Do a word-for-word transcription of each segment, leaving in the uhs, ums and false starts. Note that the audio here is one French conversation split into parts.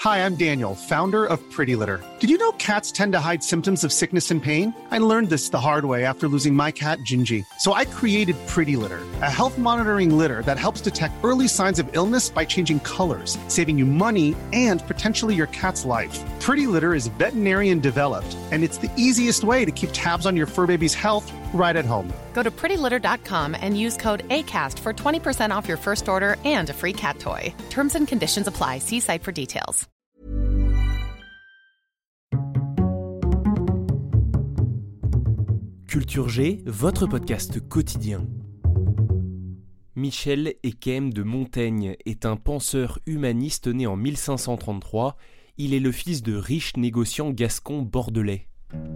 Hi, I'm Daniel, founder of Pretty Litter. Did you know cats tend to hide symptoms of sickness and pain? I learned this the hard way after losing my cat, Gingy. So I created Pretty Litter, a health monitoring litter that helps detect early signs of illness by changing colors, saving you money and potentially your cat's life. Pretty Litter is veterinarian developed, and it's the easiest way to keep tabs on your fur baby's health right at home. Go to pretty litter dot com and use code ACAST for twenty percent off your first order and a free cat toy. Terms and conditions apply. See site for details. Culture G, votre podcast quotidien. Michel Eyquem de Montaigne est un penseur humaniste né en mille cinq cent trente-trois. Il est le fils de riches négociants gascons bordelais.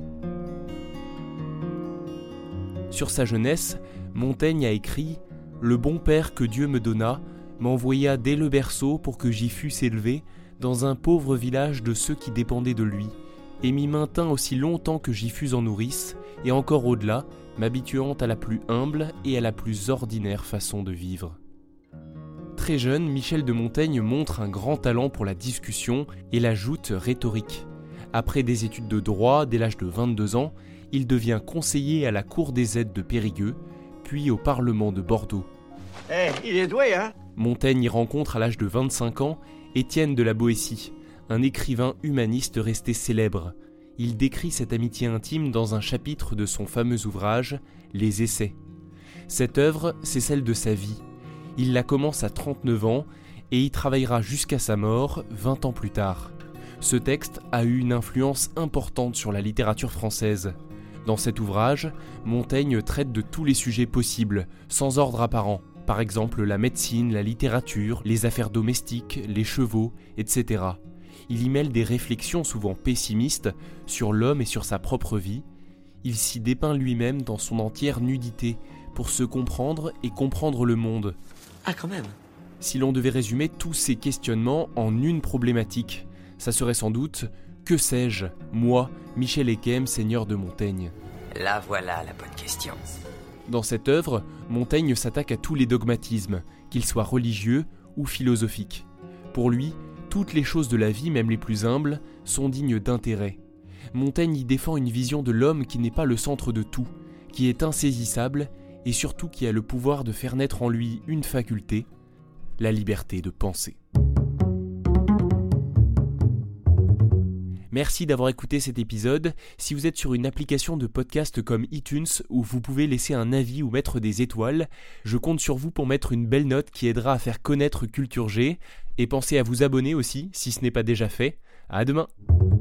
Sur sa jeunesse, Montaigne a écrit « Le bon père que Dieu me donna m'envoya dès le berceau pour que j'y fusse élevé dans un pauvre village de ceux qui dépendaient de lui, et m'y maintint aussi longtemps que j'y fus en nourrice, et encore au-delà, m'habituant à la plus humble et à la plus ordinaire façon de vivre. » Très jeune, Michel de Montaigne montre un grand talent pour la discussion et la joute rhétorique. Après des études de droit dès l'âge de vingt-deux ans, il devient conseiller à la cour des aides de Périgueux, puis au Parlement de Bordeaux. Eh, hey, il est doué, hein ? Montaigne y rencontre à l'âge de vingt-cinq ans Étienne de la Boétie, un écrivain humaniste resté célèbre. Il décrit cette amitié intime dans un chapitre de son fameux ouvrage « Les Essais ». Cette œuvre, c'est celle de sa vie. Il la commence à trente-neuf ans et y travaillera jusqu'à sa mort, vingt ans plus tard. Ce texte a eu une influence importante sur la littérature française. Dans cet ouvrage, Montaigne traite de tous les sujets possibles, sans ordre apparent. Par exemple, la médecine, la littérature, les affaires domestiques, les chevaux, et cetera. Il y mêle des réflexions souvent pessimistes sur l'homme et sur sa propre vie. Il s'y dépeint lui-même dans son entière nudité pour se comprendre et comprendre le monde. Ah, quand même. Si l'on devait résumer tous ces questionnements en une problématique, ça serait sans doute « Que sais-je, moi, Michel Eyquem, seigneur de Montaigne ?» Là voilà la bonne question. Dans cette œuvre, Montaigne s'attaque à tous les dogmatismes, qu'ils soient religieux ou philosophiques. Pour lui, toutes les choses de la vie, même les plus humbles, sont dignes d'intérêt. Montaigne y défend une vision de l'homme qui n'est pas le centre de tout, qui est insaisissable et surtout qui a le pouvoir de faire naître en lui une faculté, la liberté de penser. Merci d'avoir écouté cet épisode. Si vous êtes sur une application de podcast comme iTunes où vous pouvez laisser un avis ou mettre des étoiles, je compte sur vous pour mettre une belle note qui aidera à faire connaître Culture G. Et pensez à vous abonner aussi si ce n'est pas déjà fait. À demain.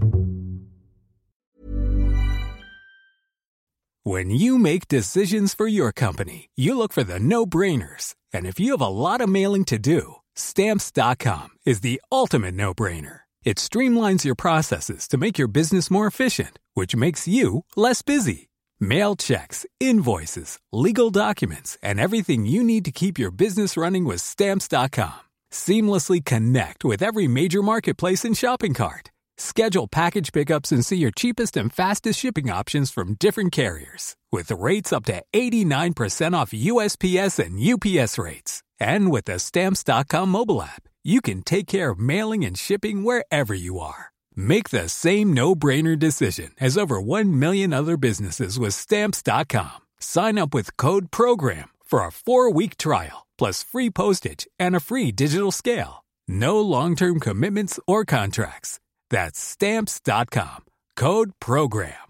When you make decisions for your company, you look for the no-brainers. And if you have a lot of mailing to do, Stamps dot com is the ultimate no-brainer. It streamlines your processes to make your business more efficient, which makes you less busy. Mail checks, invoices, legal documents, and everything you need to keep your business running with Stamps dot com. Seamlessly connect with every major marketplace and shopping cart. Schedule package pickups and see your cheapest and fastest shipping options from different carriers. With rates up to eighty-nine percent off U S P S and U P S rates. And with the Stamps dot com mobile app, you can take care of mailing and shipping wherever you are. Make the same no-brainer decision as over one million other businesses with Stamps dot com. Sign up with code PROGRAM for a four-week trial, plus free postage and a free digital scale. No long-term commitments or contracts. That's Stamps dot com. Code PROGRAM.